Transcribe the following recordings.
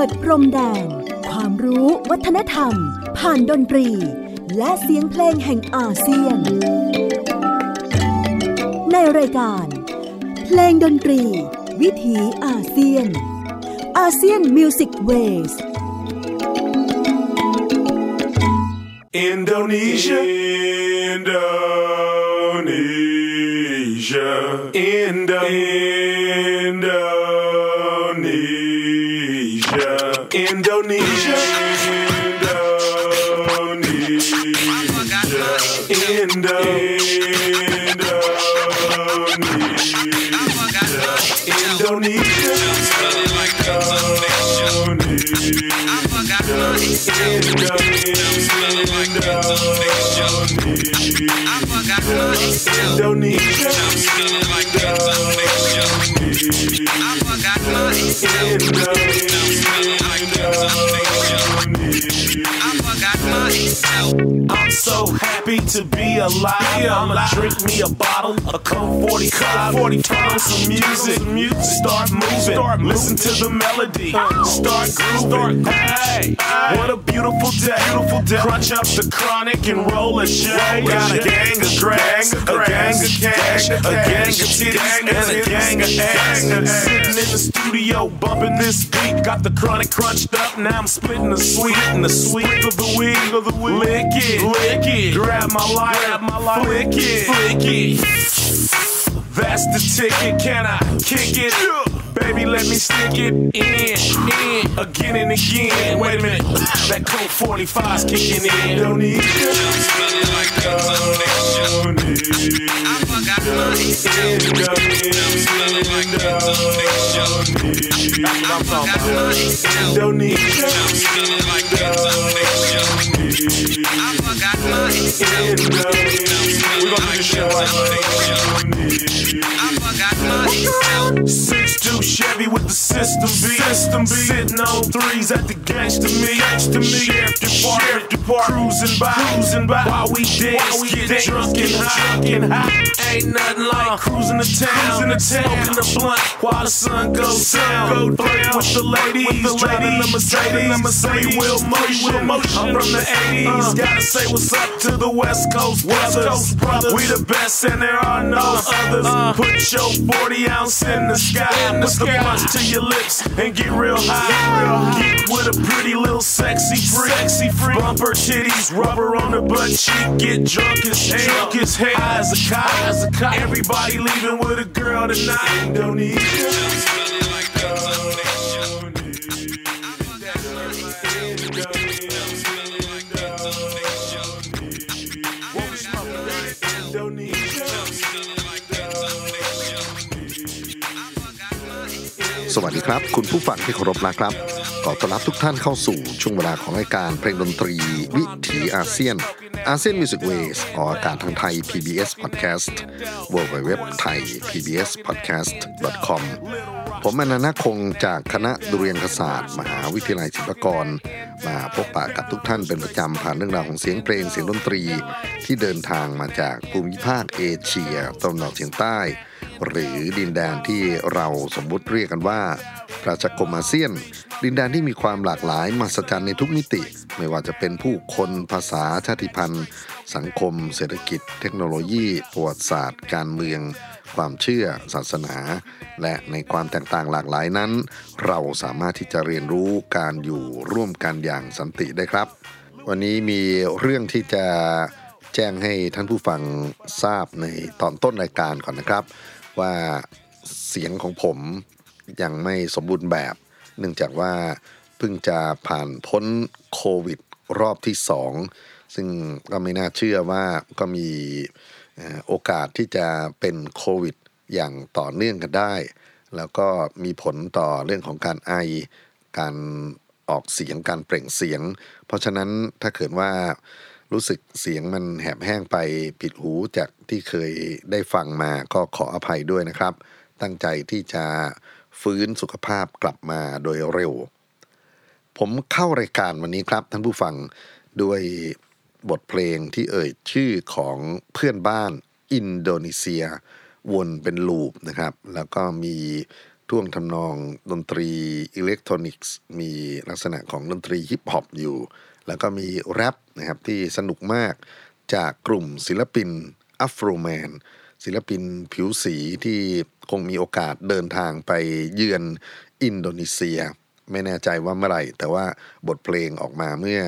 ดพรมแดนความรู้วัฒนธรรมผ่านดนตรีและเสียงเพลงแห่งอาเซียนในรายการเพลงดนตรีวิถีอาเซียนอาเซียนมิวสิกเวส Indonesia I'm so happy to be alive. I'ma drink me a bottle of Coke 45, on some music, start moving, listen to the melody, start grooving. Hey, what a beautiful day. Crunch up the chronic and roll a J. Got a gang of grags, a gang of cash, a gang of titties, and a gang of ass. Sitting in the studio bumping this beat, got the chronic crunched up. Now I'm splitting the sweet of the weed. Lick it, grab my light, flick it. That's the ticket, can I kick it? Baby, let me stick it in, again and again. Wait a minute, that Coke 45's kicking in. Indonesia, I forgot my Six-two Chevy with the system B. Sitting on threes at the gangsta me. Sheriff Depart, cruising by while we dance, get drunk and high. Ain't nothing like cruising the town, smoking the blunt while the sun goes down. Flirt with the ladies, driving the Mercedes, wheel motion. I'm from the 80s, gotta say what's up to the West Coast brothers. We the best and there are no others. Put your 40-ounce in the sky, put the blunt to your lips and get real high. Get with a pretty little sexy freak. Bumper titties, rubber on the butt cheek. Get drunk as hell, high as a kite. Everybody leaving with a girl tonight. Indonesia. สวัสดีครับคุณผู้ฟังที่เคารพนะครับขอต้อนรับทุกท่านเข้าสู่ช่วงเวลาของรายการเพลงดนตรีวิถีอาเซียนอาเซียนมิวสิกเวสออกอากาศทางไทย PBS Podcast www.thaipbspodcast.com ผมอนันต์คงจากคณะดุริยางคศาสตร์มหาวิทยาลัยศิลปากรมาพบปะกับทุกท่านเป็นประจำผ่านเรื่องราวของเสียงเพลงเสียงดนตรีที่เดินทางมาจากภูมิภาคเอเชียตะวันออกเฉียงใต้หรือดินแดนที่เราสมมุติเรียกกันว่าประชาคมอาเซียนดินแดนที่มีความหลากหลายมหัศจรรย์ในทุกมิติไม่ว่าจะเป็นผู้คนภาษาชาติพันธุ์สังคมเศรษฐกิจเทคโนโลยีประวัติศาสตร์การเมืองความเชื่อศาสนาและในความแตกต่างหลากหลายนั้นเราสามารถที่จะเรียนรู้การอยู่ร่วมกันอย่างสันติได้ครับวันนี้มีเรื่องที่จะแจ้งให้ท่านผู้ฟังทราบในตอนต้นรายการก่อนนะครับว่าเสียงของผมยังไม่สมบูรณ์แบบเนื่องจากว่าเพิ่งจะผ่านพ้นโควิดรอบที่2ซึ่งก็ไม่น่าเชื่อว่าก็มีโอกาสที่จะเป็นโควิดอย่างต่อเนื่องกันได้แล้วก็มีผลต่อเรื่องของการไอการออกเสียงการเปล่งเสียงเพราะฉะนั้นถ้าเกิดว่ารู้สึกเสียงมันแหบแห้งไปผิดหูจากที่เคยได้ฟังมาก็ขออภัยด้วยนะครับตั้งใจที่จะฟื้นสุขภาพกลับมาโดยเร็วผมเข้ารายการวันนี้ครับท่านผู้ฟังด้วยบทเพลงที่เอ่ยชื่อของเพื่อนบ้านอินโดนีเซียวนเป็นลูปนะครับแล้วก็มีท่วงทำนองดนตรีอิเล็กทรอนิกส์มีลักษณะของดนตรีฮิปฮอปอยู่แล้วก็มีแรปนะครับที่สนุกมากจากกลุ่มศิลปินอัฟโรแมนศิลปินผิวสีที่คงมีโอกาสเดินทางไปเยือนอินโดนีเซียไม่แน่ใจว่าเมื่อไหร่แต่ว่าบทเพลงออกมาเมื่อ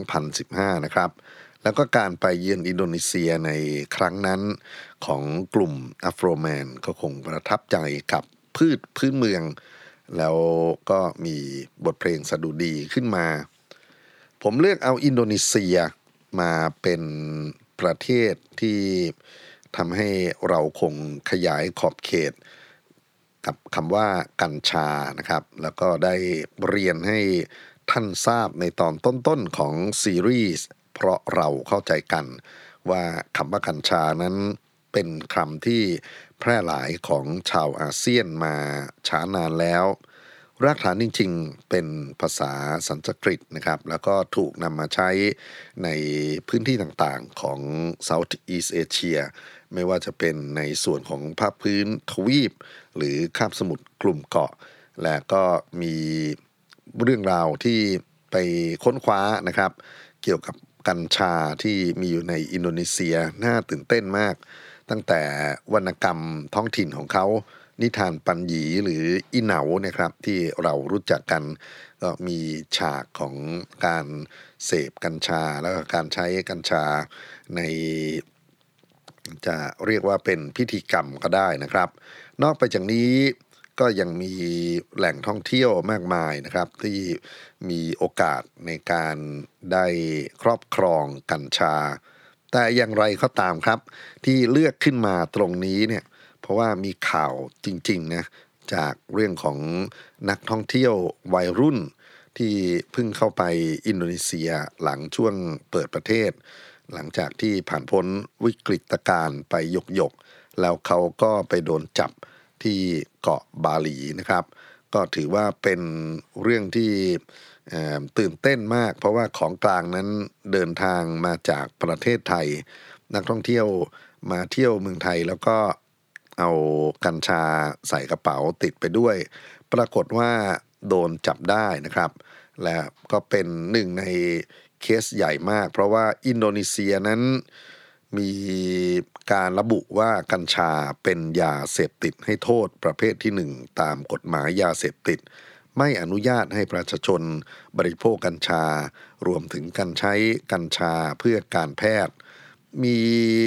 2015 นะครับแล้วก็การไปเยือนอินโดนีเซียในครั้งนั้นของกลุ่มอัฟโรแมนก็คงประทับใจกับพืชพื้นเมืองแล้วก็มีบทเพลงสดุดีขึ้นมาผมเลือกเอาอินโดนีเซียมาเป็นประเทศที่ทำให้เราคงขยายขอบเขตกับคำว่ากัญชานะครับแล้วก็ได้เรียนให้ท่านทราบในตอนต้นๆของซีรีส์เพราะเราเข้าใจกันว่าคำว่ากัญชานั้นเป็นคำที่แพร่หลายของชาวอาเซียนมาช้านานแล้วรากฐานจริงๆเป็นภาษาสันสกฤตนะครับแล้วก็ถูกนำมาใช้ในพื้นที่ต่างๆของ Southeast Asia ไม่ว่าจะเป็นในส่วนของภาคพื้นทวีปหรือคาบสมุทรกลุ่มเกาะและก็มีเรื่องราวที่ไปค้นคว้านะครับเกี่ยวกับกัญชาที่มีอยู่ในอินโดนีเซียน่าตื่นเต้นมากตั้งแต่วรรณกรรมท้องถิ่นของเขานิทานปัญญีหรืออีเหนานะครับที่เรารู้จักกันก็มีฉากของการเสพกัญชาแล้วก็การใช้กัญชาในจะเรียกว่าเป็นพิธีกรรมก็ได้นะครับนอกไปจากนี้ก็ยังมีแหล่งท่องเที่ยวมากมายนะครับที่มีโอกาสในการได้ครอบครองกัญชาแต่อย่างไรก็ตามครับที่เลือกขึ้นมาตรงนี้เนี่ยเพราะว่ามีข่าวจริงๆนะจากเรื่องของนักท่องเที่ยววัยรุ่นที่เพิ่งเข้าไปอินโดนีเซียหลังช่วงเปิดประเทศหลังจากที่ผ่านพ้นวิกฤตการณ์ไปหยกๆแล้วเขาก็ไปโดนจับที่เกาะบาหลีนะครับก็ถือว่าเป็นเรื่องที่ตื่นเต้นมากเพราะว่าของกลางนั้นเดินทางมาจากประเทศไทยนักท่องเที่ยวมาเที่ยวเมืองไทยแล้วก็เอากัญชาใส่กระเป๋าติดไปด้วยปรากฏว่าโดนจับได้นะครับและก็เป็นหนึ่งในเคสใหญ่มากเพราะว่าอินโดนีเซียนั้นมีการระบุว่ากัญชาเป็นยาเสพติดให้โทษประเภทที่1ตามกฎหมายยาเสพติดไม่อนุญาตให้ประชาชนบริโภคกัญชารวมถึงการใช้กัญชาเพื่อการแพทย์มี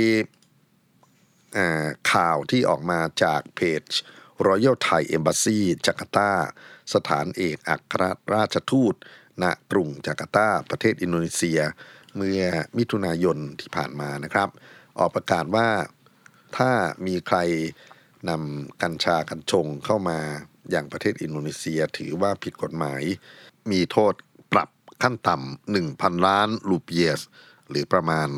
ข่าวที่ออกมาจากเพจ Royal Thai Embassy จาการ์ตาสถานเอกอัครราชทูตณกรุงจาการ์ตาประเทศอินโดนีเซียเมื่อมิถุนายนที่ผ่านมานะครับออกประกาศว่าถ้ามีใครนำกัญชากัญชงเข้ามาอย่างประเทศอินโดนีเซียถือว่าผิดกฎหมายมีโทษปรับขั้นต่ำ 1,000 ล้านรูเปียสหรือประมาณ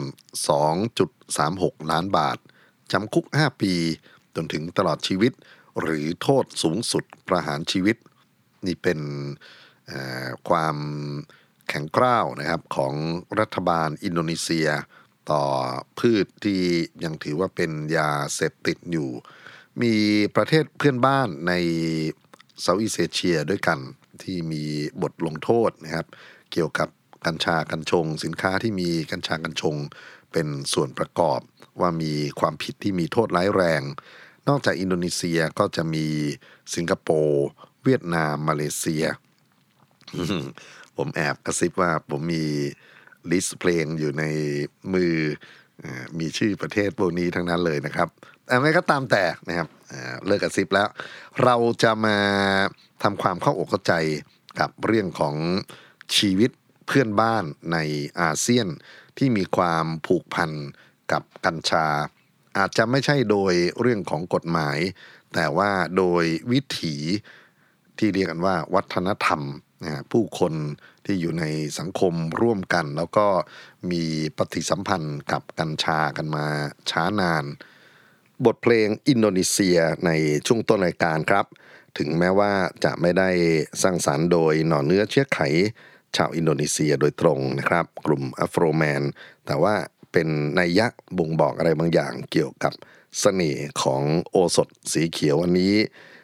2.36 ล้านบาทจำคุก5ปีจนถึงตลอดชีวิตหรือโทษสูงสุดประหารชีวิตนี่เป็นความแข็งกร้าวนะครับของรัฐบาลอินโดนีเซียต่อพืชที่ยังถือว่าเป็นยาเสพติดอยู่มีประเทศเพื่อนบ้านในเซาท์อีสต์เอเชียด้วยกันที่มีบทลงโทษนะครับเกี่ยวกับกัญชากัญชงสินค้าที่มีกัญชากัญชงเป็นส่วนประกอบว่ามีความผิดที่มีโทษร้ายแรงนอกจากอินโดนีเซียก็จะมีสิงคโปร์เวียดนามมาเลเซีย ผมแอบกระซิบว่าผมมีลิสต์เพลงอยู่ในมือมีชื่อประเทศพวกนี้ทั้งนั้นเลยนะครับอะไรก็ตามแต่นะครับเลิกกระซิบแล้วเราจะมาทำความเข้าอกเข้าใจกับเรื่องของชีวิตเพื่อนบ้านในอาเซียนที่มีความผูกพันกับกัญชาอาจจะไม่ใช่โดยเรื่องของกฎหมายแต่ว่าโดยวิถีที่เรียกกันว่าวัฒนธรรมผู้คนที่อยู่ในสังคมร่วมกันแล้วก็มีปฏิสัมพันธ์กับกัญชากันมาช้านานบทเพลงอินโดนีเซียในช่วงต้นรายการครับถึงแม้ว่าจะไม่ได้สร้างสรรค์โดยหน่อเนื้อเชื้อไขชาวอินโดนีเซียโดยตรงนะครับกลุ่มอัฟโรแมนแต่ว่าเป็นนัยยะบ่งบอกอะไรบางอย่างเกี่ยวกับเสน่ห์ของโอสถสีเขียวอันนี้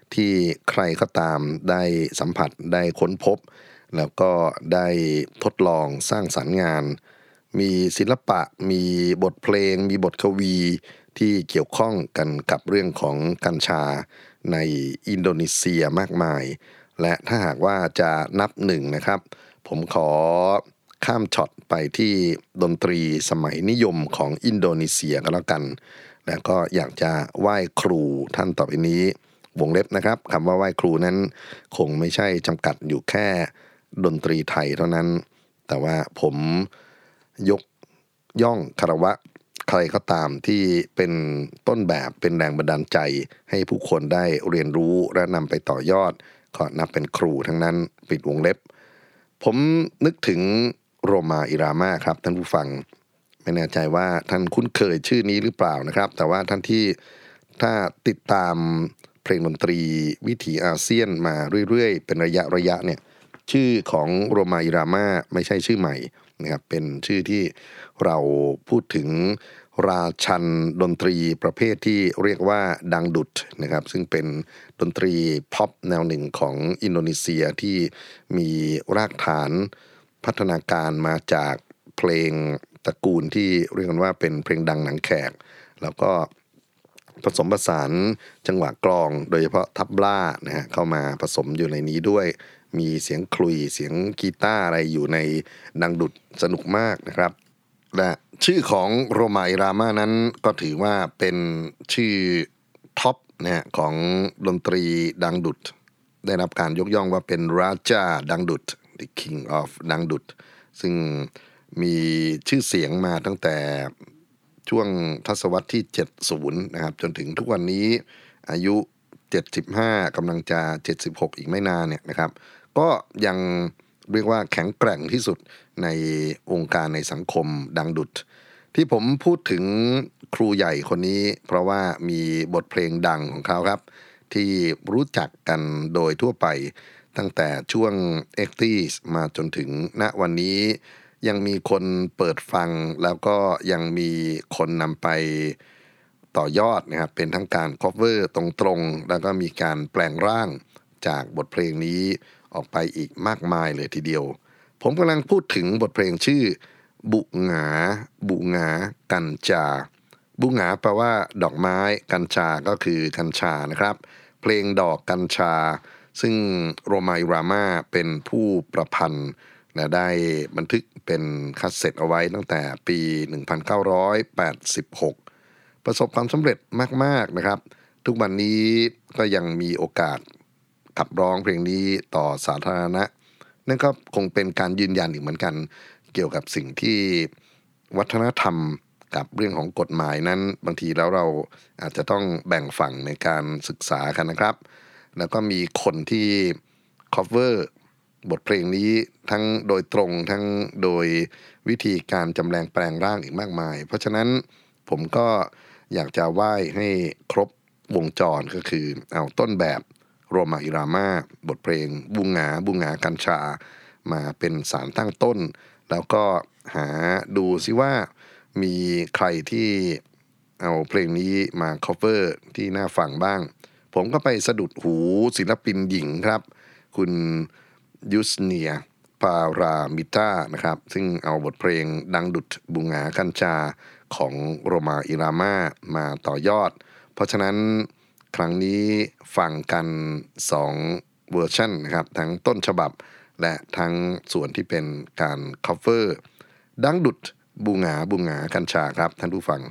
ที่ใครก็ตามได้สัมผัสได้ค้นพบแล้วก็ได้ทดลองสร้างสรรค์งานมีศิลปะมีบทเพลงมีบทกวีที่เกี่ยวข้องกันกับเรื่องของกัญชาในอินโดนีเซียมากมายและถ้าหากว่าจะนับหนึ่งนะครับผมขอข้ามช็อตไปที่ดนตรีสมัยนิยมของอินโดนีเซียก็แล้วกันและก็อยากจะไหว้ครูท่านต่อไปนี้วงเล็บนะครับคำว่าไหว้ครูนั้นคงไม่ใช่จำกัดอยู่แค่ดนตรีไทยเท่านั้นแต่ว่าผมยกย่องคารวะใครก็ตามที่เป็นต้นแบบเป็นแรงบันดาลใจให้ผู้คนได้เรียนรู้และนำไปต่อยอดก็นับเป็นครูทั้งนั้นปิดวงเล็บผมนึกถึงโรมาอิรามาครับท่านผู้ฟังไม่แน่ใจว่าท่านคุ้นเคยชื่อนี้หรือเปล่านะครับแต่ว่าท่านที่ถ้าติดตามเพลงดนตรีวิถีอาเซียนมาเรื่อยๆเป็นระยะเนี่ยชื่อของโรมาอิรามาไม่ใช่ชื่อใหม่นะครับเป็นชื่อที่เราพูดถึงราชันดนตรีประเภทที่เรียกว่าดังดุดนะครับซึ่งเป็นดนตรีพ็อปแนวหนึ่งของอินโดนีเซียที่มีรากฐานพัฒนาการมาจากเพลงตระกูลที่เรียกกันว่าเป็นเพลงดังหนังแขกแล้วก็ผสมผสานจังหวะกลองโดยเฉพาะทับล่านะฮะเข้ามาผสมอยู่ในนี้ด้วยมีเสียงคลุยเสียงกีตาร์อะไรอยู่ในดังดุดสนุกมากนะครับและชื่อของโรมาอิรามานั้นก็ถือว่าเป็นชื่อท็อปนะฮะของดนตรีดังดุดได้รับการยกย่องว่าเป็นราชาดังดุด The King of ดังดุดซึ่งมีชื่อเสียงมาตั้งแต่ช่วงทศวรรษที่70นะครับจนถึงทุกวันนี้อายุ75กำลังจะ76อีกไม่นานเนี่ยนะครับก็ยังเรียกว่าแข็งแกร่งที่สุดในองค์การในสังคมดังดุดที่ผมพูดถึงครูใหญ่คนนี้เพราะว่ามีบทเพลงดังของเขาครับที่รู้จักกันโดยทั่วไปตั้งแต่ช่วง 80s มาจนถึงณวันนี้ยังมีคนเปิดฟังแล้วก็ยังมีคนนำไปต่อยอดนะครับเป็นทั้งการ cover ตรงๆแล้วก็มีการแปลงร่างจากบทเพลงนี้ออกไปอีกมากมายเลยทีเดียวผมกำลังพูดถึงบทเพลงชื่อบุหงากัญชาบุหงาแปลว่าดอกไม้กัญชาก็คือกัญชานะครับเพลงดอกกัญชาซึ่งโรมาอิรามาเป็นผู้ประพันธ์และได้บันทึกเป็นคัสเซ็ตเอาไว้ตั้งแต่ปี 1986 ประสบความสำเร็จมากๆนะครับทุกวันนี้ก็ยังมีโอกาสขับร้องเพลงนี้ต่อสาธารณะนั่นก็คงเป็นการยืนยันอีกเหมือนกันเกี่ยวกับสิ่งที่วัฒนธรรมกับเรื่องของกฎหมายนั้นบางทีแล้วเราอาจจะต้องแบ่งฝั่งในการศึกษากันนะครับแล้วก็มีคนที่ cover บทเพลงนี้ทั้งโดยตรงทั้งโดยวิธีการจำแรงแปลงร่างอีกมากมายเพราะฉะนั้นผมก็อยากจะไหว้ให้ครบวงจรก็คือเอาต้นแบบโรมาอิรามาบทเพลงบุหงากัญชามาเป็นสารตั้งต้นแล้วก็หาดูซิว่ามีใครที่เอาเพลงนี้มา cover ที่น่าฟังบ้างผมก็ไปสะดุดหูศิลปินหญิงครับคุณยุสเนียปารามิต้านะครับซึ่งเอาบทเพลงดังดุดบุหงากัญชาของโรมาอิรามามาต่อยอดเพราะฉะนั้นครั้งนี้ฟังกัน2เวอร์ชันนะครับทั้งต้นฉบับและทั้งส่วนที่เป็นการ cover ดังดุดบุหงากัญชาครับท่านผู้ฟัง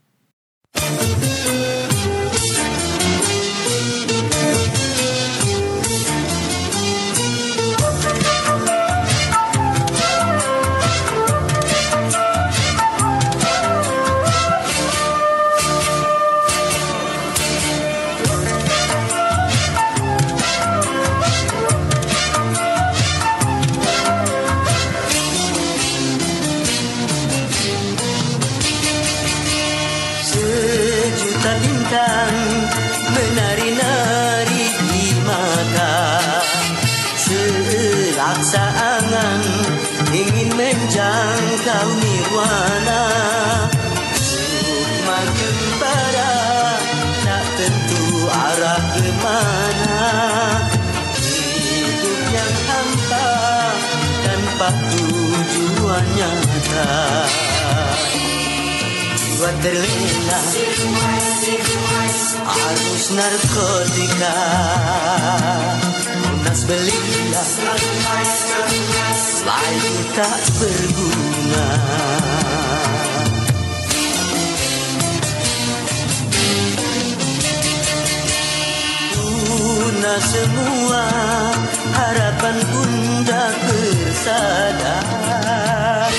bintang menari-nari di mata, selaksa angan ingin menjangkau nirwana. Sukma gembara tak tentu arah kemana, yang hampa tanpa tujuan nyata. Jiwa terlena arus narkotika, lunas belia, layu tak berguna. Punah semua harapan bunda bersadar.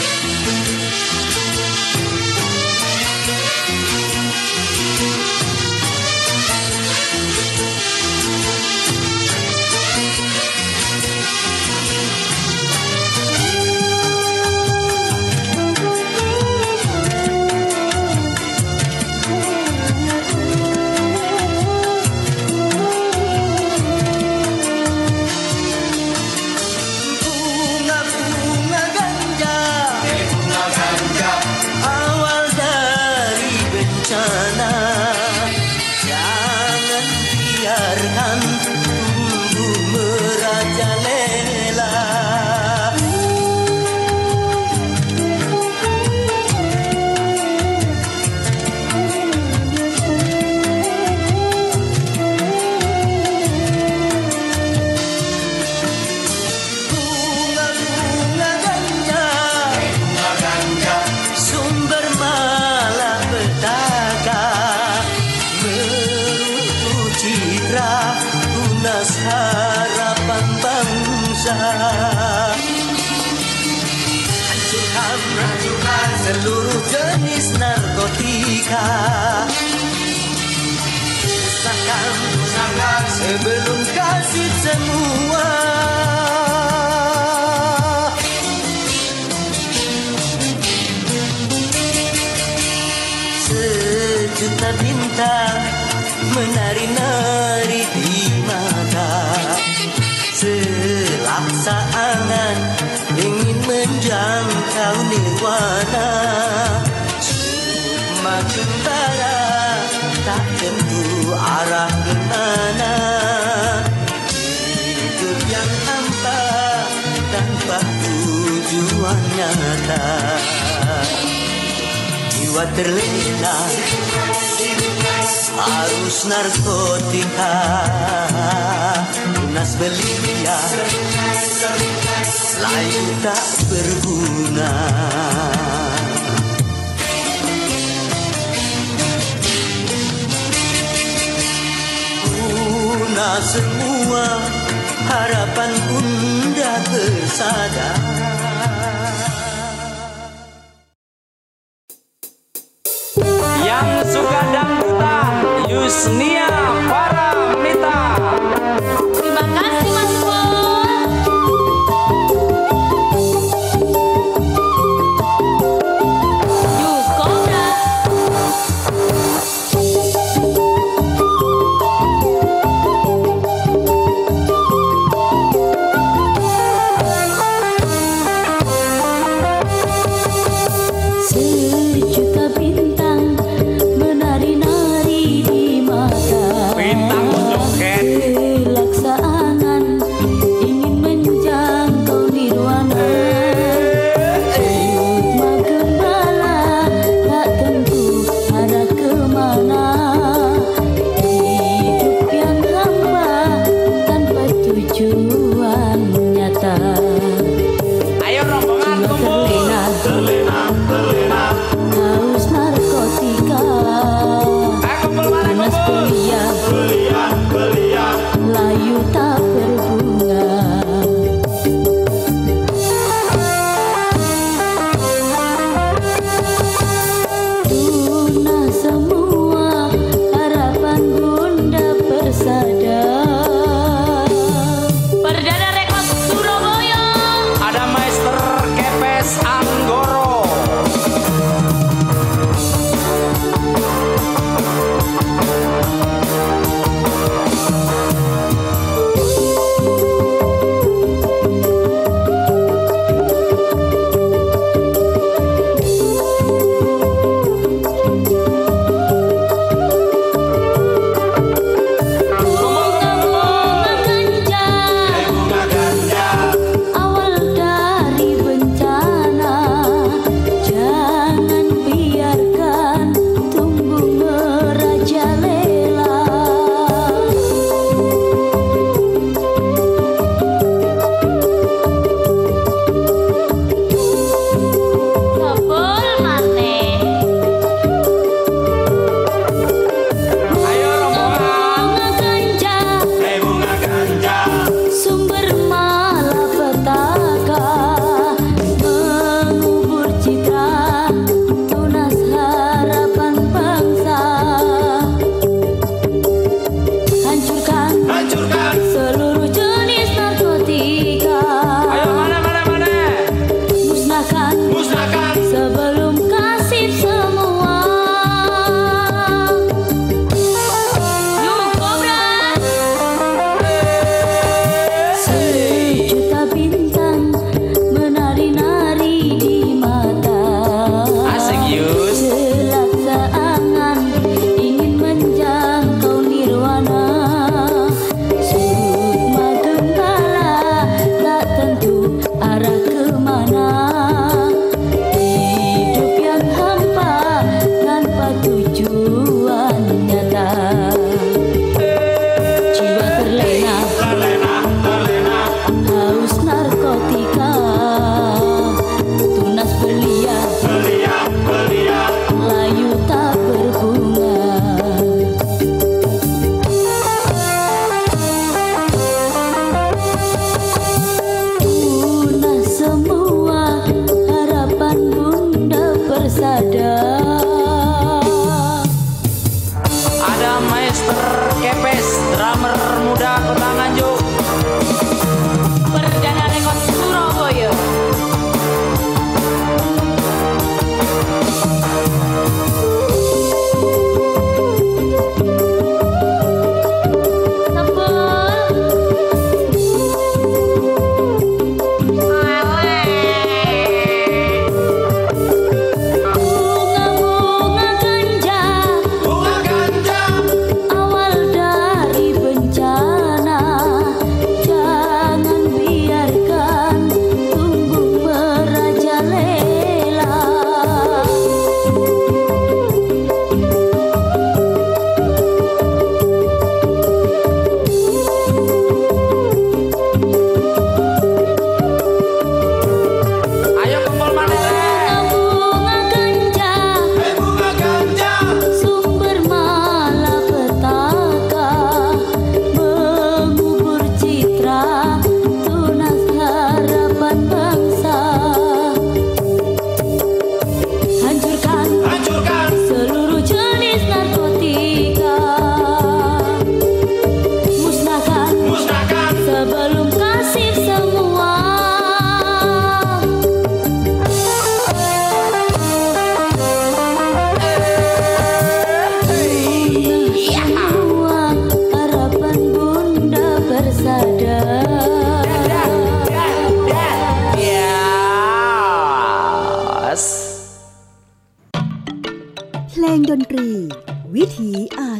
Harapan bangsa hancurkan seluruh jenis narkotika. Usahakan sebelum kasih semua. Sejuta bintang menari-nari di mata, selaksa angan ingin menjangkau nirwana. Cuma gembara tak tentu arah kemana. Hidup yang hampa tanpa tujuan nyata. Jiwa terlena arus narkotika, lunas belia, layu tak berguna. Punah semua harapan bunda bersadar. Yang suka dangdutan Yusnia Paramita. Terima kasih Mas Pon. Yus Kobra. Sejuta bintang menari-nari di mata. Bintang joget. Kelaksanaan ingin menjangkau nirwana. Ritma gembala tak tentu arah kemana. Hidup yang hampa tanpa tujuan nyata. Ayo rombongan kumpul. Haus narkotika, Kumpul mana panas kumpul. belia, layu tak berbunga. Tunah semua harapan bunda bersadar. Perdana Rekod Surabaya.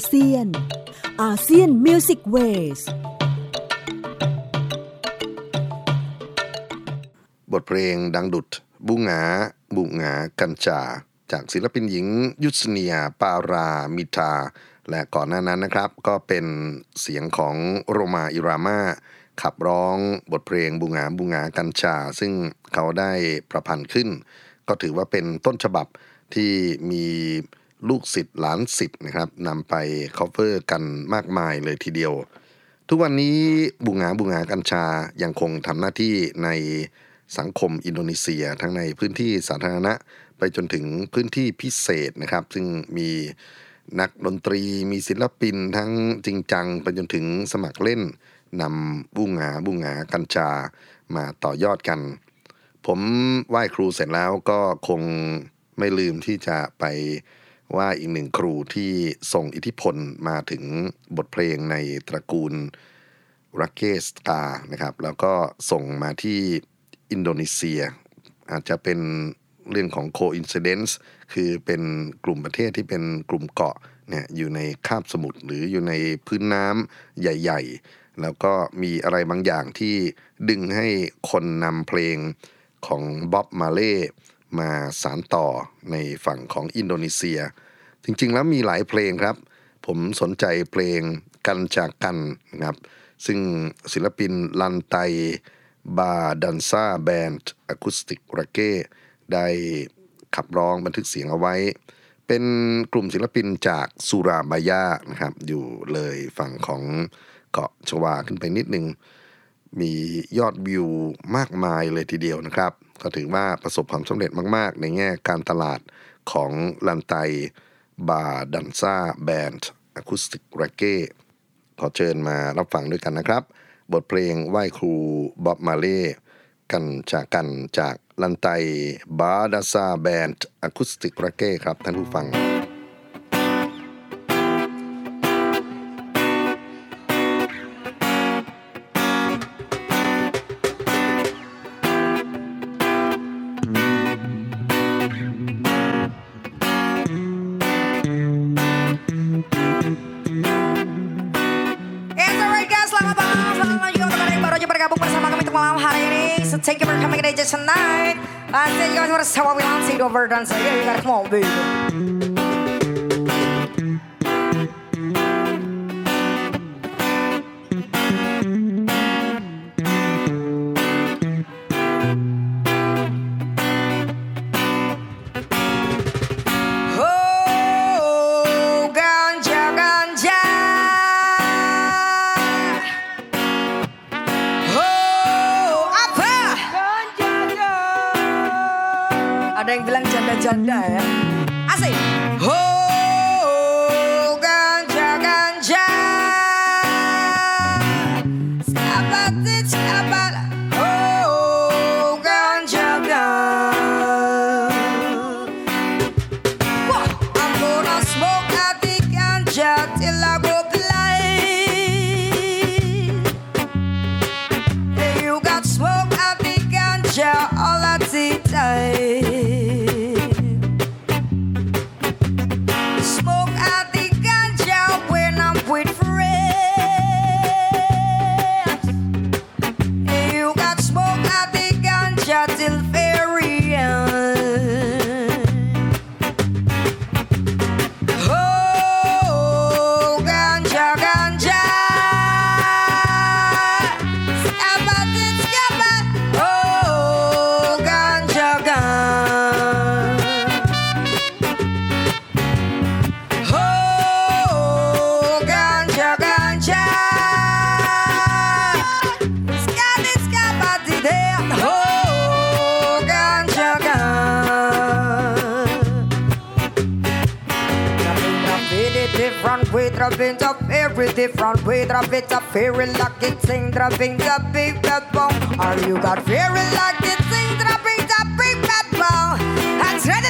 เซียนอาเซียนมิวสิกเวสบทเพลงดังดุจบุหงาบุหงากัญจาจากศิลปินหญิงยุสเนียปารามิทาและก่อนหน้านั้นนะครับก็เป็นเสียงของโรมาอิรามาขับร้องบทเพลงบุหงาบุหงากัญชาซึ่งเขาได้ประพันธ์ขึ้นก็ถือว่าเป็นต้นฉบับที่มีลูกศิษย์หลานศิษย์นะครับนำไปคัฟเวอร์กันมากมายเลยทีเดียวทุกวันนี้บุหงาบุหงากัญชายังคงทำหน้าที่ในสังคมอินโดนีเซียทั้งในพื้นที่สาธารณะไปจนถึงพื้นที่พิเศษนะครับซึ่งมีนักดนตรีมีศิลปินทั้งจริงจังไปจนถึงสมัครเล่นนำบุหงาบุหงากัญชามาต่อยอดกันผมไหว้ครูเสร็จแล้วก็คงไม่ลืมที่จะไปไหว้อีกหนึ่งครูที่ส่งอิทธิพลมาถึงบทเพลงในตระกูลรักเกสตานะครับแล้วก็ส่งมาที่อินโดนีเซียอาจจะเป็นเรื่องของ coincidence คือเป็นกลุ่มประเทศที่เป็นกลุ่มเกาะเนี่ยอยู่ในคาบสมุทรหรืออยู่ในพื้นน้ำใหญ่ๆแล้วก็มีอะไรบางอย่างที่ดึงให้คนนำเพลงของบ๊อบมาเล่มาสานต่อในฝั่งของอินโดนีเซียจริงๆแล้วมีหลายเพลงครับผมสนใจเพลงกันจากกันนะครับซึ่งศิลปินลันไตบาดันซ่าแบนด์อะคูสติกรักเก้ได้ขับร้องบันทึกเสียงเอาไว้เป็นกลุ่มศิลปินจากสุราบายานะครับอยู่เลยฝั่งของเกาะชวาขึ้นไปนิดนึงมียอดวิวมากมายเลยทีเดียวนะครับก็ถือว่าประสบความสำเร็จมากๆในแง่การตลาดของลันไตบาดันซ่าแบนด์อะคูสติกรักเก้ขอเชิญมารับฟังด้วยกันนะครับบทเพลงไหว้ครูบ๊อบมาเล่กันจากลันไตบาดันซ่าแบนด์อะคูสติกรักเก้ครับท่านผู้ฟัง Thank you for coming today just tonight. I said you guys want to see what we want to see over dance. So yeah, you gotta come on, baby. Ada yang bilang janda-janda ya. Asik. Oh, ganja. Skabat. Oh, ganja. Whoa, I'm gonna smoke out the ganja till I go blind. You got smoke out the ganja all at the time. Till very end. Oh, ganja. Skabat. Oh, ganja. Oh, ganja. Skabat there. Different way, dropping up every different way, drop it up, very lucky thing, dropping the big bad bomb. Are you got very lucky thing, dropping the big bad bomb? That's ready,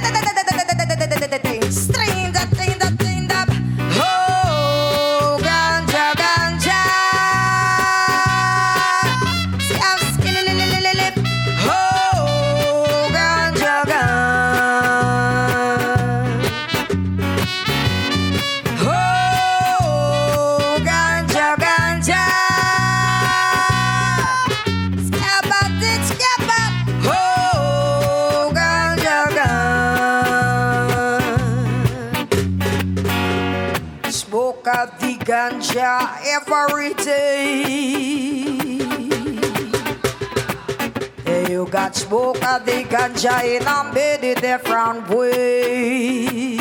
string that thing, that. Oh, ganja. Oh, ganja. Oh, ganja every day. You got smoke of the ganja in a many different way.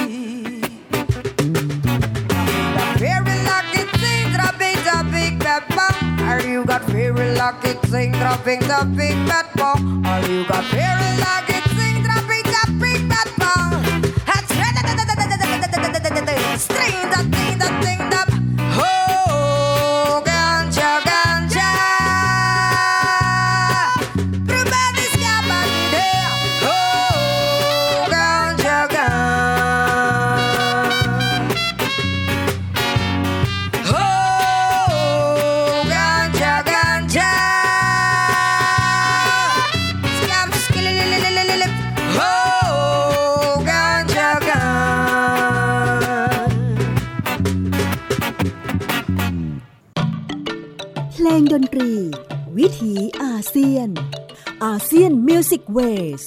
Very lucky thing, dropping the big bad bomb. Or you got very lucky thing, dropping the big bad bomb. Or you got very lucky thing, dropping the big bad bomb. String that thing, that thing, that. Oh, ganja, ganja. Everybody's got money there. Oh, ganja, ganja. Oh, ganja, ganja. Scam, skillilililililip. Oh, ganja, ganja. เพลงดนตรีวิถีอาเซียนอาเซียนมิวสิกเวส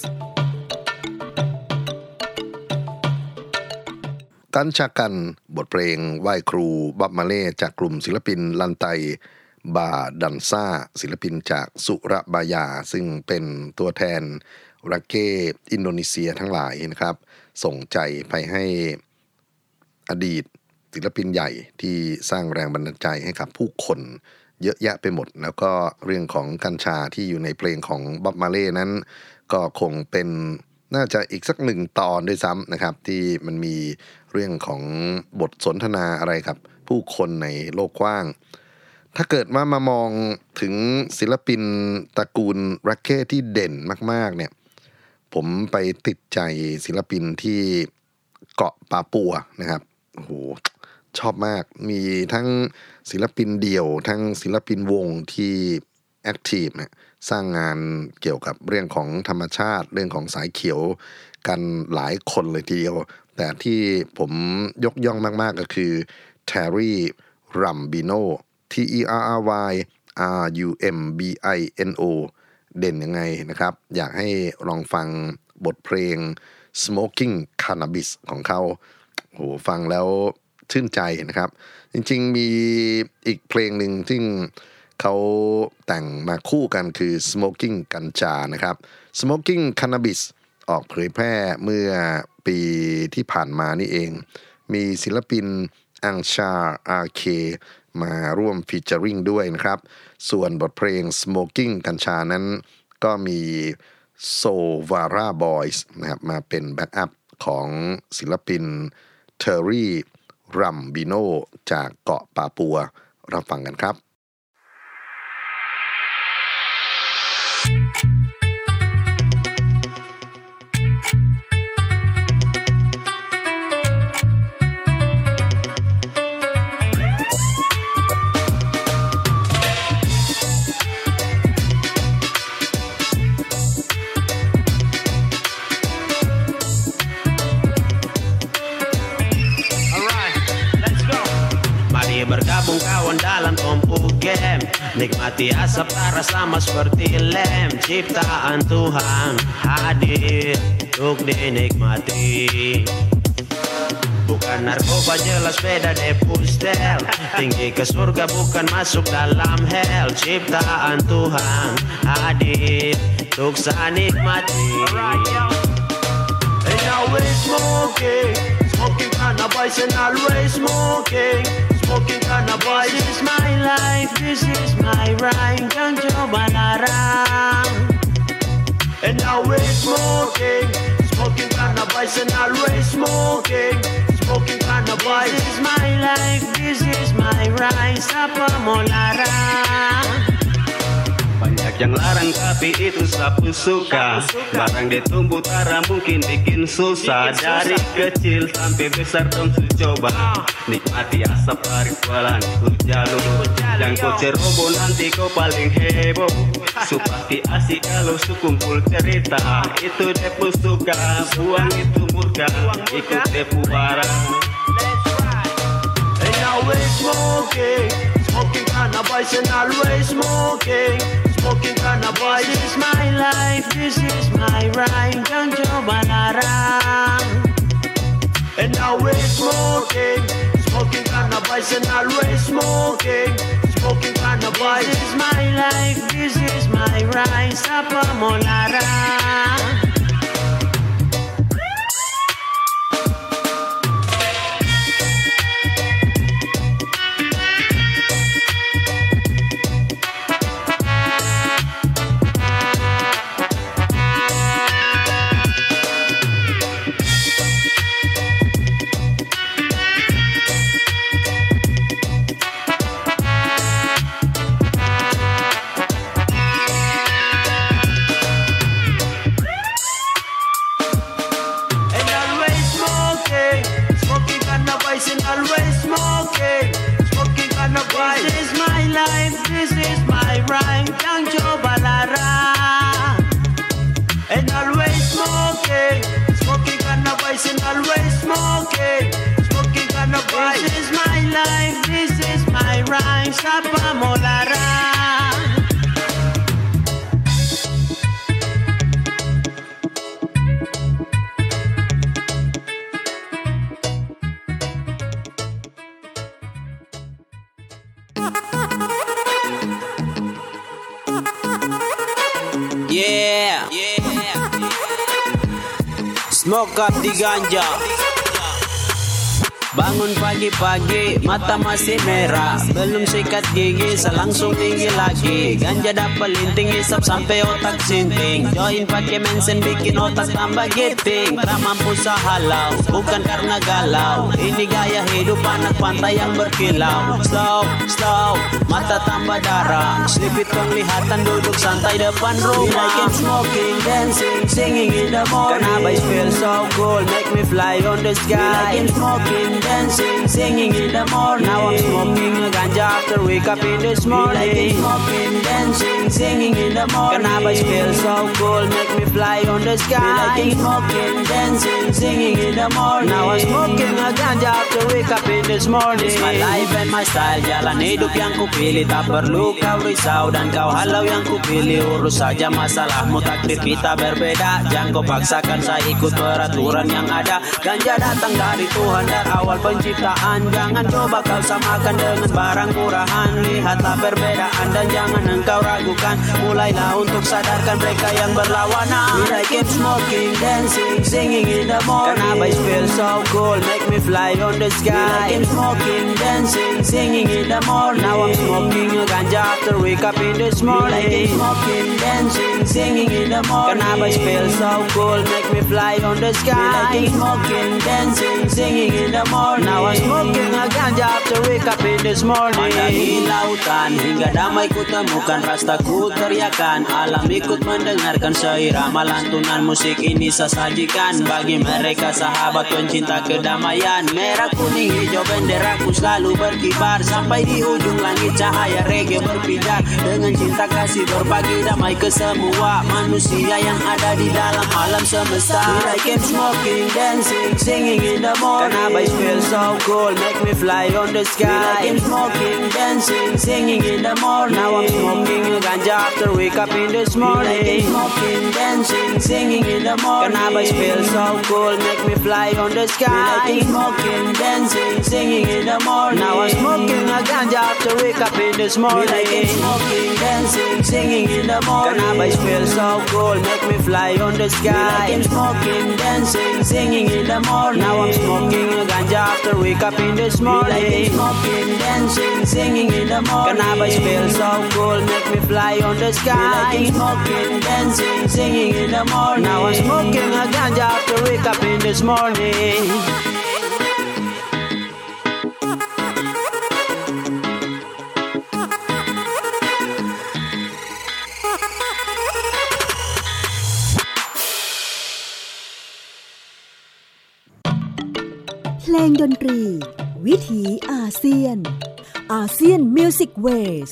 กัญชากันบทเพลงไหว้ครูบับมาเล่จากกลุ่มศิลปินลันไตบาดันซ่าศิลปินจากสุระบายาซึ่งเป็นตัวแทนรักเก้อินโดนีเซียทั้งหลายนะครับส่งใจไปให้อดีตศิลปินใหญ่ที่สร้างแรงบันดาลใจให้กับผู้คนเยอะแยะไปหมดแล้วก็เรื่องของกัญชาที่อยู่ในเพลงของบับมาเล่นั้นก็คงเป็นน่าจะอีกสักหนึ่งตอนด้วยซ้ำนะครับที่มันมีเรื่องของบทสนทนาอะไรครับผู้คนในโลกกว้างถ้าเกิดว่ามามองถึงศิลปินตระกูลรักเก้ที่เด่นมากๆเนี่ยผมไปติดใจศิลปินที่เกาะปาปัวนะครับโอ้โหชอบมากมีทั้งศิลปินเดี่ยวทั้งศิลปินวงที่แอคทีฟเนี่ยสร้างงานเกี่ยวกับเรื่องของธรรมชาติเรื่องของสายเขียวกันหลายคนเลยทีเดียวแต่ที่ผมยกย่องมากๆก็คือแทร์รี่รัมบิโน TERRYRUMBINO เด่นยังไงนะครับอยากให้ลองฟังบทเพลง Smoking Cannabis ของเขาโหฟังแล้วชื่นใจนะครับจริงๆมีอีกเพลงหนึ่งที่เขาแต่งมาคู่กันคือ Smoking กัญชานะครับ Smoking Cannabis ออกเผยแพร่เมื่อปีที่ผ่านมานี่เองมีศิลปินอังชาอาเคมาร่วมฟีเจอริงด้วยนะครับส่วนบทเพลง Smoking กัญชานั้นก็มีโซวาร่าบอยส์นะครับมาเป็นแบ็กอัพของศิลปินเทอร์รี่รัมบิโนจากเกาะปาปัวรับฟังกันครับ Bergabung kawan dalam tumpu game Nikmati asap tara sama seperti lem Ciptaan Tuhan hadir untuk dinikmati Bukan narkoba jelas beda deh pustel Tinggi ke surga bukan masuk dalam hell Ciptaan Tuhan hadir untuk saya nikmati And now we're smoking Smoking cannabis and always smoking Smoking cannabis This is my life, this is my right Jangan coba larang And now we're smoking Smoking cannabis and always smoking Smoking cannabis This is my life, this is my right Siapa mau larang Banyak yang larang tapi itu sapu suka Barang ditumbuh tara mungkin bikin susah Dari kecil sampai besar dong su coba Nikmati asap tarik jualan ikut jalur Yang kau ceroboh nanti kau paling heboh Su pasti asik kalau su kumpul cerita Itu depu suka, buang itu murka Ikut depu barang And now we're smoking Smoking cannabis and always smoking Smoking cannabis This is my life, this is my right Jangan coba larang And now we're smoking Smoking cannabis and always smoking. Smoking cannabis. This is my life, this is my right. Sapa Molara. Smoke up di ganja. Bangun pagi-pagi, mata masih merah. Belum sikat gigi, selangsung tinggi lagi. Ganja dapat linting, hisap sampai otak sinting. Join pakai mensen, bikin otak tambah giting. Tak mampu sahalau, bukan karena galau. Ini gaya hidup anak pantai yang berkilau. Slow, slow, mata tambah darah. Selipit penglihatan, duduk santai depan rumah. I keep smoking, dancing, singing in the morning. Cannabis feel so cool, make me fly on the sky. I keep smoking, dancing, singing in the morning. Now I'm smoking a ganja after wake up in this morning. I keep smoking, dancing, singing in the morning. Cannabis feel so cool, make me fly on the sky. I keep smoking, dancing, singing in the morning. Now I'm smoking a ganja after wake up in this morning. It's my life and my style, jalan hidup yang kupilih. Tak perlu kau risau dan kau halau yang kupilih. Urus saja masalahmu, takdir kita berbeda. Jangan kau paksakan saya ikut peraturan yang ada. Ganja datang dari Tuhan dari awal penciptaan. Jangan coba kau samakan dengan barang murahan. Lihatlah perbedaan dan jangan engkau ragukan. Mulailah untuk sadarkan mereka yang berlawanan. I keep smoking, dancing, singing in the morning. Cannabis feel so cool, make me fly on the sky. I keep smoking, dancing, singing in the morning. Now I'm smoking a ganja after wake up in this morning. I keep smoking, dancing, singing in the morning. Cannabis feel so cool, make me fly on the sky. I keep smoking, dancing, singing in the morning. Now I'm smoking a ganja after wake up in this morning. Pandangi lautan hingga damai ku temukan. Rastaku teriakan, alam ikut mendengarkan. Seirama lantunan musik ini saya sajikan bagi mereka sahabat pencinta kedamaian. Merah kuning hijau benderaku selalu berkibar. Sampai di ujung langit cahaya reggae berpindah. Dengan cinta kasih berbagi damai ke semua manusia yang ada di dalam alam semesta. I keep smoking, dancing, singing in the morning. Cannabis feel so cool, make me fly on the sky. I keep smoking, dancing, singing in the morning. Now I'm smoking a ganja after wake up in this morning. I keep smoking, dancing, singing in the morning. Cannabis feel so cool, make me fly on the sky. I keep smoking, dancing, singing in the morning. Now I'm smoking a ganja after wake up in this morning. I keep smoking, dancing, singing in the morning. Cannabis feel so cool, make me fly on the sky. I keep smoking, dancing, singing in the morning. Now I'm smoking a ganja after wake up in this morning. I keep smoking, dancing, singing in the morning. Cannabis feel so cool, make me fly on the sky. I keep smoking, dancing, singing in the morning. Now I'm smoking a ganja after wake up in this morning. เพลงดนตรีวิถีอาเซียนอาเซียนมิวสิกเวส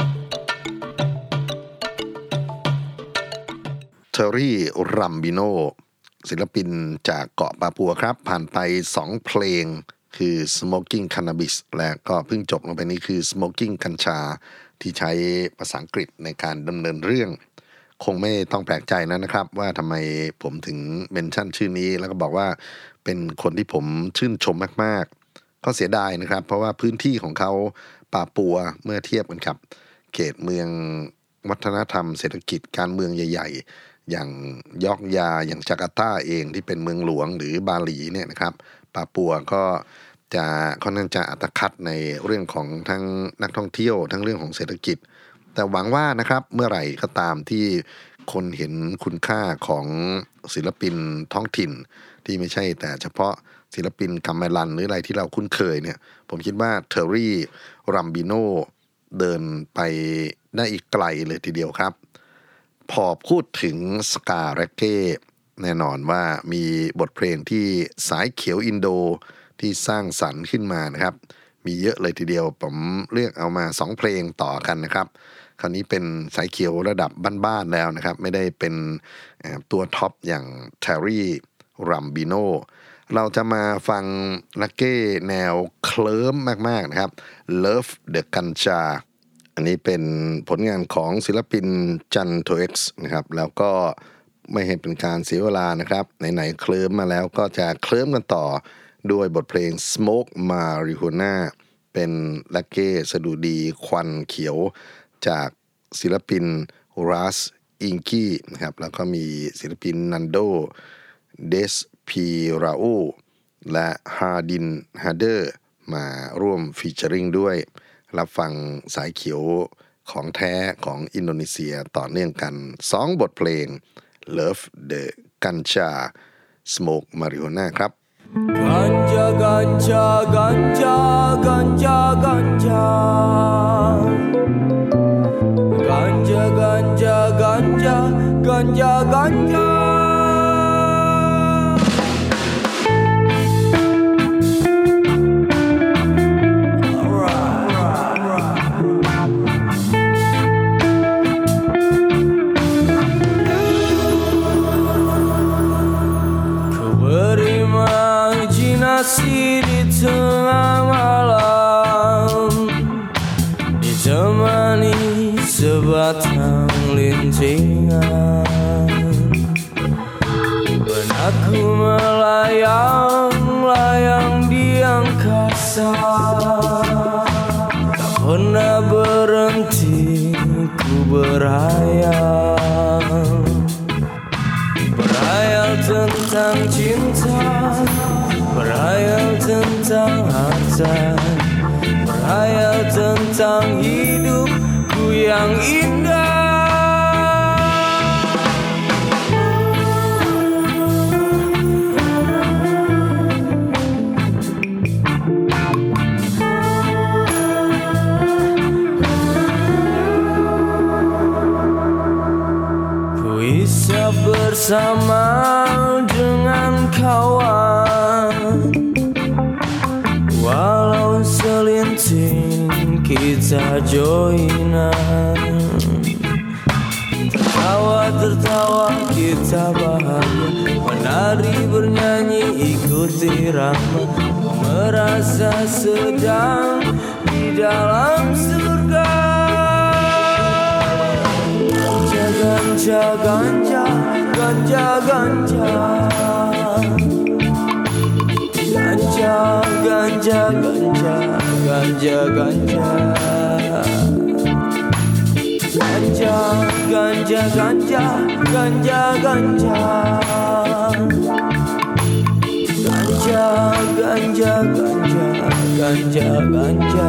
เทอรี่รัมบิโนศิลปินจากเกาะปาปัวครับผ่านไป2เพลงคือ Smoking Cannabis และก็เพิ่งจบลงไปนี้คือ Smoking กัญชาที่ใช้ภาษาอังกฤษในการดำเนินเรื่องคงไม่ต้องแปลกใจนะครับว่าทำไมผมถึงเมนชั่นชื่อนี้แล้วก็บอกว่าเป็นคนที่ผมชื่นชมมากๆก็เสียดายนะครับเพราะว่าพื้นที่ของเขาปาปัวเมื่อเทียบกันครับเขตเมืองวัฒนธรรมเศรษฐกิจการเมืองใหญ่ๆอย่างยอกยาอย่างจาการ์ตาเองที่เป็นเมืองหลวงหรือบาหลีเนี่ยนะครับปาปัวก็จะค่อนข้างจะอัตคัดในเรื่องของทั้งนักท่องเที่ยวทั้งเรื่องของเศรษฐกิจแต่หวังว่านะครับเมื่อไหร่ก็ตามที่คนเห็นคุณค่าของศิลปินท้องถิ่นที่ไม่ใช่แต่เฉพาะศิลปินกัมเมลันหรืออะไรที่เราคุ้นเคยเนี่ยผมคิดว่าเทอร์รี่รัมบิโนเดินไปได้อีกไกลเลยทีเดียวครับพอพูดถึงสกาแร็กเก้แน่นอนว่ามีบทเพลงที่สายเขียวอินโดที่สร้างสรรค์ขึ้นมานะครับมีเยอะเลยทีเดียวผมเลือกเอามา2เพลงต่อกันนะครับคราวนี้เป็นสายเขียวระดับบ้านๆแล้วนะครับไม่ได้เป็นตัวท็อปอย่างเทอร์รี่รัมบิโนเราจะมาฟังลักเก้แนวเคลิ้มมากๆนะครับ Love the Ganja อันนี้เป็นผลงานของศิลปินจันโทเอ็กซ์นะครับแล้วก็ไม่ให้เป็นการเสียเวลานะครับไหนๆเคลิ้มมาแล้วก็จะเคลิ้มกันต่อด้วยบทเพลง Smoke Marijuana เป็นลักเก้สดุดีควันเขียวจากศิลปินรัสอิงกี้นะครับแล้วก็มีศิลปินนันโดเดสพีราโอและฮาดินฮาเดอร์มาร่วมฟีเจอริงด้วยรับฟังสายเขียวของแท้ของอินโดนีเซียต่อเนื่องกัน2บทเพลง Love the Ganja Smoke Marijuana ครับ Ganja Ganja Ganja Ganja Ganja Ganja Ganja Ganja Ganja Ganja Imajinasi di tengah malam ditemani sebatang lintingan benakku melayang-layang di angkasa tak pernah berhenti ku berhayal tentang cinta berhayal tentang harta berhayal tentang hidupku yang indah ku isap bersama dengan kawan walau selinting kita joinan tertawa kita bahagia menari bernyanyi ikuti irama merasa sedang di dalam surga ganja ganja ganja ganja ganja ganja ganja ganja ganja ganja ganja ganja ganja ganja ganja ganja ganja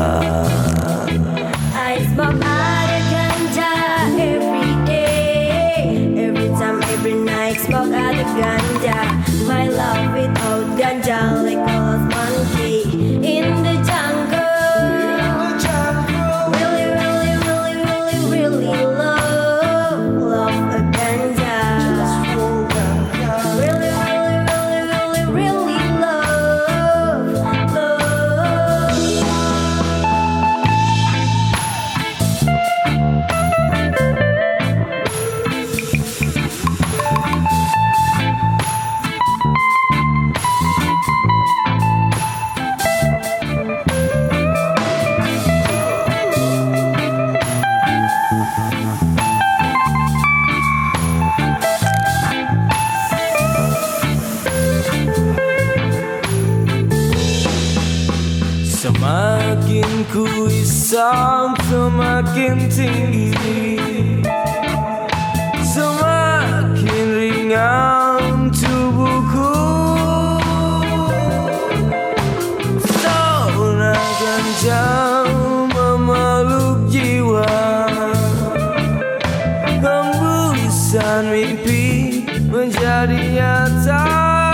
I smoke out of ganja every day, every time, every night. Smoke out of ganja. My love without ganja, like a lost monkey in the jungle. Really, really, really, really, really love a ganja. Really, really, really, really, really love. Anginku isap semakin tinggi, semakin ringan tubuhku. Zona ganja memeluk jiwa, hembusan mimpi menjadi nyata.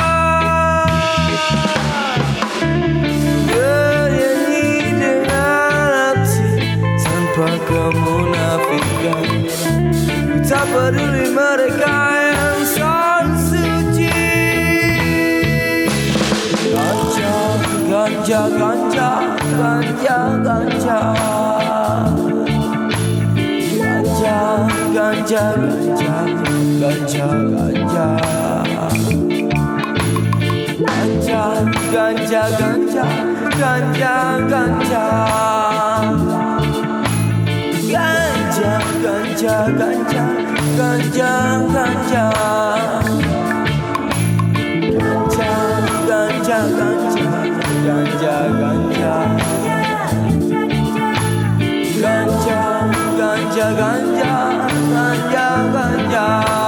Bernyanyi dengan hati tanpa kemunafikan, tak peduli mereka yang son suci. Ganja, ganja, ganja, ganja, ganja. Ganja, ganja, ganja, ganja. Ganja, ganja, ganja, ganja, ganja. Ganja, ganja, ganja, ganja, ganja. Ganja, ganja, ganja, ganja, ganja. Ganja, ganja, ganja, ganja, ganja.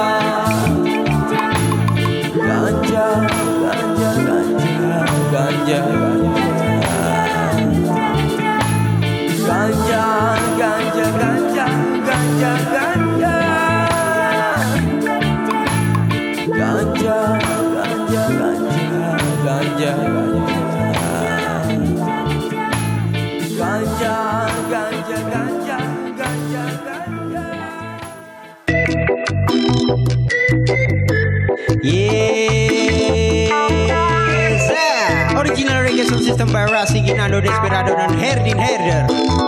Ganja, ganja, ganja, ganja, ganja. Ganja, ganja, ganja, ganja, ganja. Ganja, ganja, ganja, ganja, ganja. Ganja, ganja, ganja, ganja. Yes, original reggae sound system by Rasi Ginando Desperado dan Herdin Herder.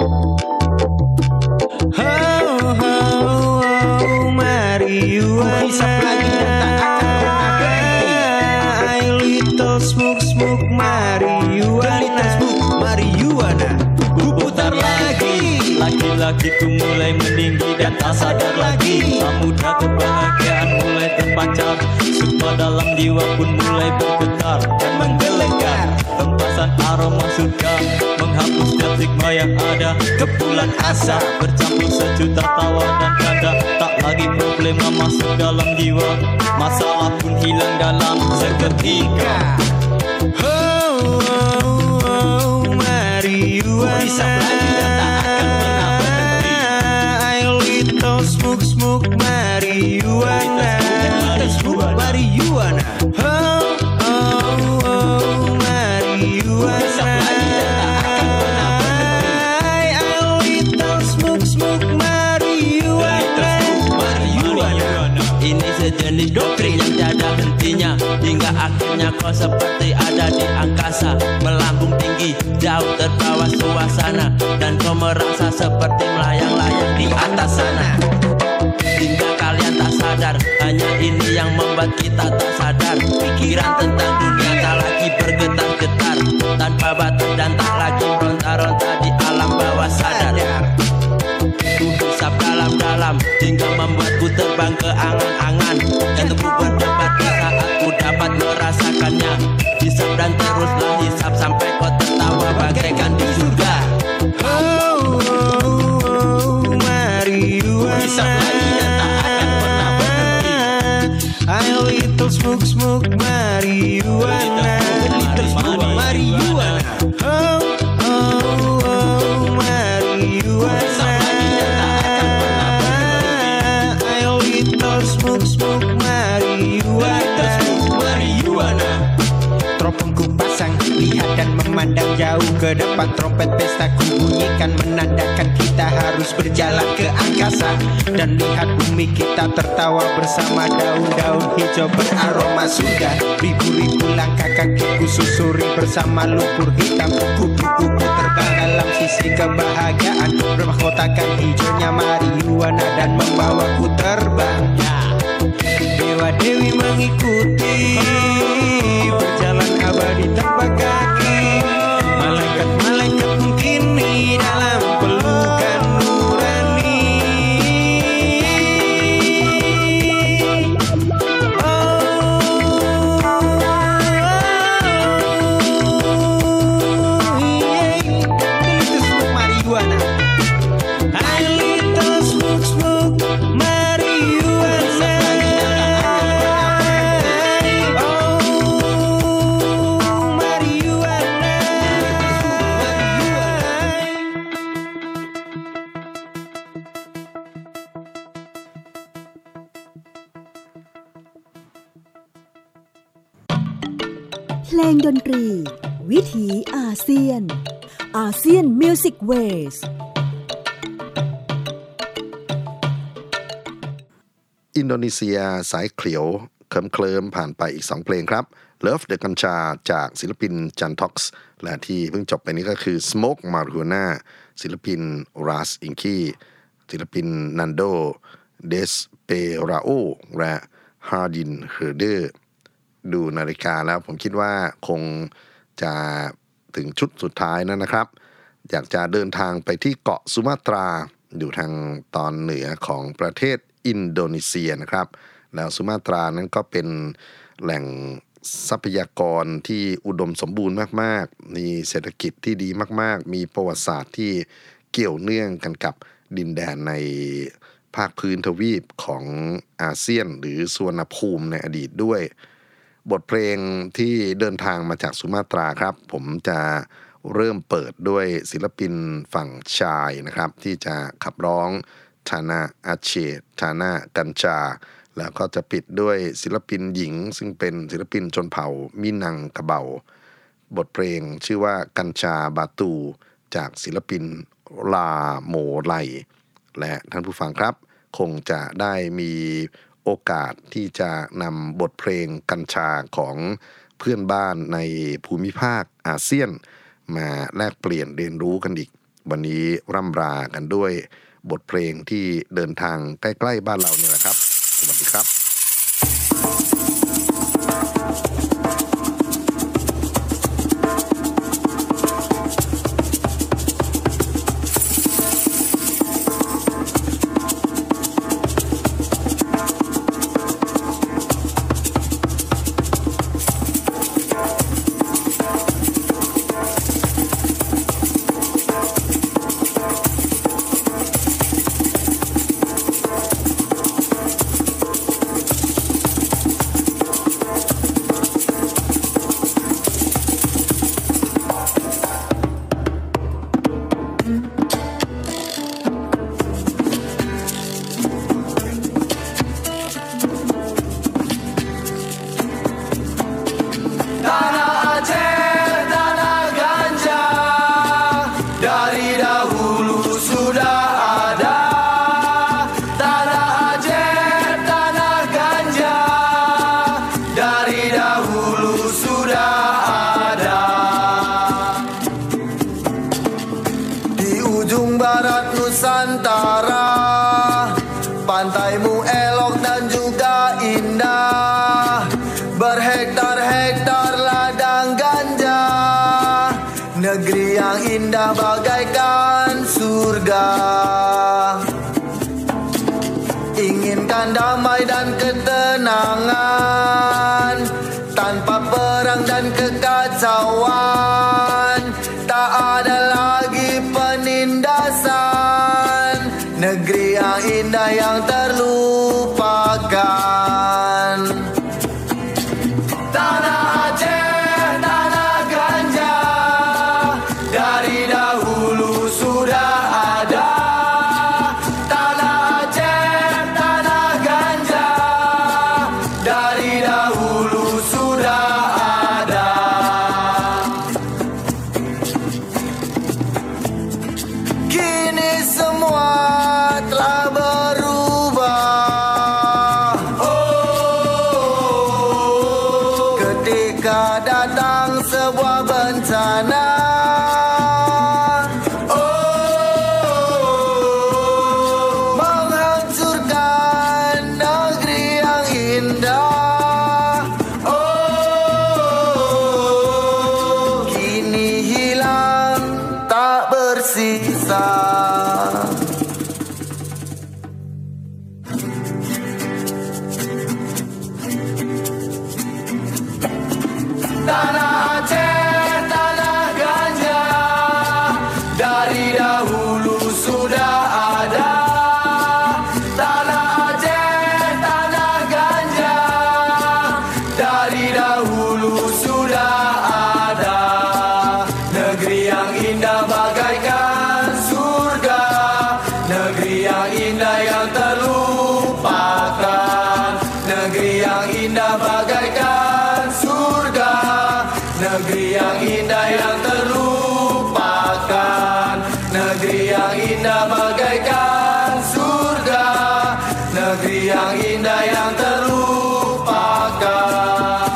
Marijuana lagi dan tak akan pernah berhenti. Little smoke smoke marijuana, little smoke marijuana. Ku putar lagi, laki-lakiku mulai meninggi dan tak sadar lagi. Muda kebahagiaan mulai terpancar, suka dalam jiwa pun mulai bergetar dan menggelegar. Tempasan aroma surga menghapus setiap stigma yang ada. Kepulan asa bercampur sejuta tawa dan canda. Tak lagi problema masuk dalam jiwa, masalah pun hilang dalam seketika. Smoke smoke marijuana, smoke marijuana. Ini sejenis doktrin yang tiada hentinya, hingga akhirnya kau seperti ada di angkasa, melambung tinggi, jauh terbawa suasana, dan kau merasa seperti melayang-layang di atas sana. Hingga kalian tak sadar, hanya ini yang membuat kita tak sadar. Pikiran tentang dunia tak lagi bergetar-getar, tanpa batas dan tak lagi ronta-ronta di alam bawah sadar. Ku hisap dalam-dalam hingga membuatku terbang ke angan-angan. Jantungku berdebar di saat ku dapat merasakannya. Hisap dan teruslah hisap sampai kau tertawa bagaikan di surga. Hisap lagi dan tak akan pernah berhenti. I little smoke smoke marijuana, little smoke marijuana. Smoke smoke marijuana, smoke marijuana. Teropongku pasang, lihat dan memandang jauh ke depan. Trompet pesta ku bunyikan menandakan kita harus berjalan ke angkasa. Dan lihat bumi kita tertawa bersama daun-daun hijau beraroma surga. Ribu-ribu langkah kakiku susuri bersama lumpur hitam. Kupu-kupu terbang dalam sisi kebahagiaan, bermahkotakan hijaunya marijuana dan membawaku terbang. Dewa Dewi mengikuti, berjalan abadi tanpa kaki. Malaikat-malaikat pun kini dalam pelukan nurani. เพลงดนตรีวิถีอาเซียนอาเซียนมิวสิกเวสอินโดนีเซียสายเขียวเคลิ้มผ่านไปอีก2เพลงครับ Love the Ganja จากศิลปินจันท็อกซ์และที่เพิ่งจบไปนี้ก็คือ Smoke Marijuana ศิลปิน Ras Inki ศิลปิน Nando Desperao และ Hardin Herder ดูนาฬิกาแล้วผมคิดว่าคงจะถึงชุดสุดท้ายแล้วนะครับอยากจะเดินทางไปที่เกาะสุมาตราอยู่ทางตอนเหนือของประเทศอินโดนีเซียนะครับแล้วสุมาตรานั้นก็เป็นแหล่งทรัพยากรที่อุดมสมบูรณ์มากๆมีเศรษฐกิจที่ดีมากๆมีประวัติศาสตร์ที่เกี่ยวเนื่องกันกับดินแดนในภาคพื้นทวีปของอาเซียนหรือสุวรรณภูมิในอดีตด้วยบทเพลงที่เดินทางมาจากสุมาตราครับผมจะเริ่มเปิดด้วยศิลปินฝั่งชายนะครับที่จะขับร้องทานาอาเชทานากัญจาแล้วก็จะปิดด้วยศิลปินหญิงซึ่งเป็นศิลปินชนเผ่ามินังกะเบาบทเพลงชื่อว่ากัญชาบาตูจากศิลปินลาโมไลและท่านผู้ฟังครับคงจะได้มีโอกาสที่จะนำบทเพลงกัญชาของเพื่อนบ้านในภูมิภาคอาเซียนมาแลกเปลี่ยนเรียนรู้กันอีกวันนี้ร่ำรากันด้วยบทเพลงที่เดินทางใกล้ๆบ้านเราเนี่ยแหละครับสวัสดีครับ bagaikan surga inginkan damai dan ketenangan tanpa perang dan kekacauan tak ada lagi penindasan negeri yang indah yang terlupakan tanah Aceh tanah ganja dari dahulu sudah ada tanah Aceh tanah ganja dari dahulu sudah ada negeri yang indah yang terlupakan.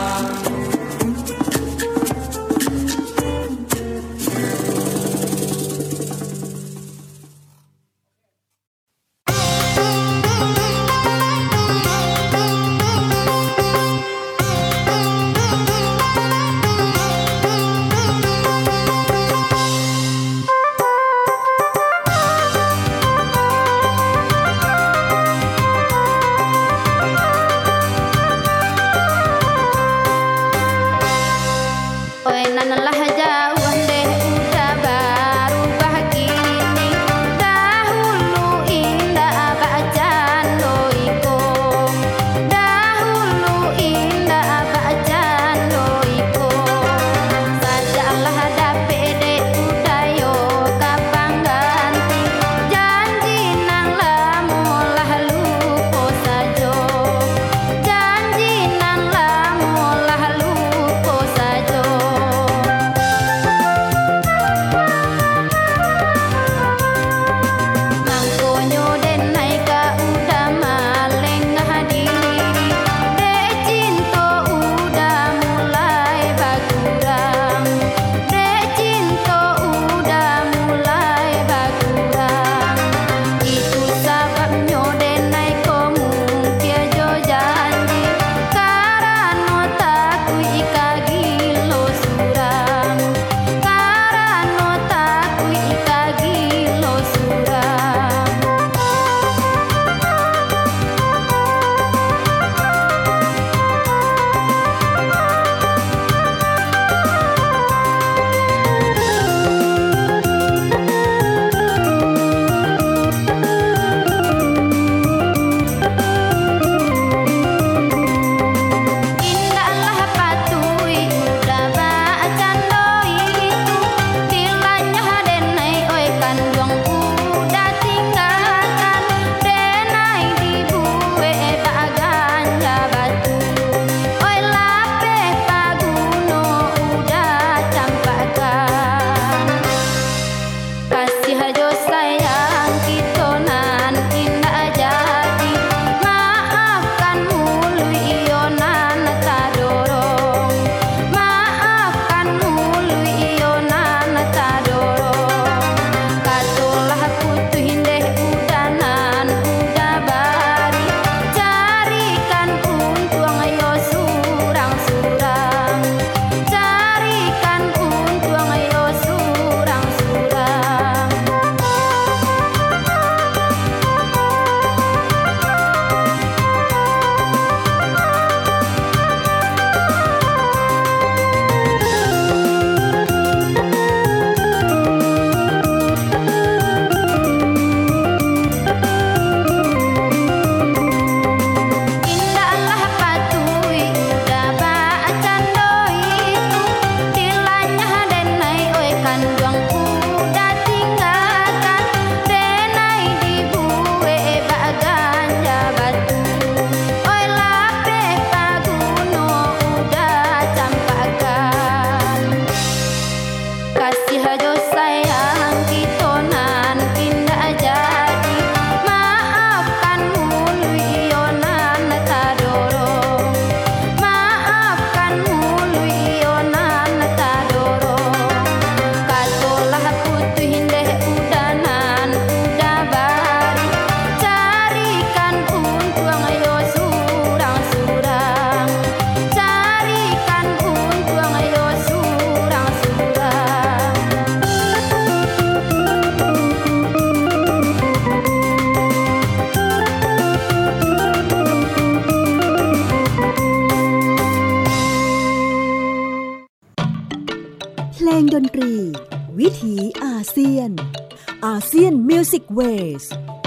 เพลงดนตรีวิถีอาเซียนอาเซียนมิวสิกเวส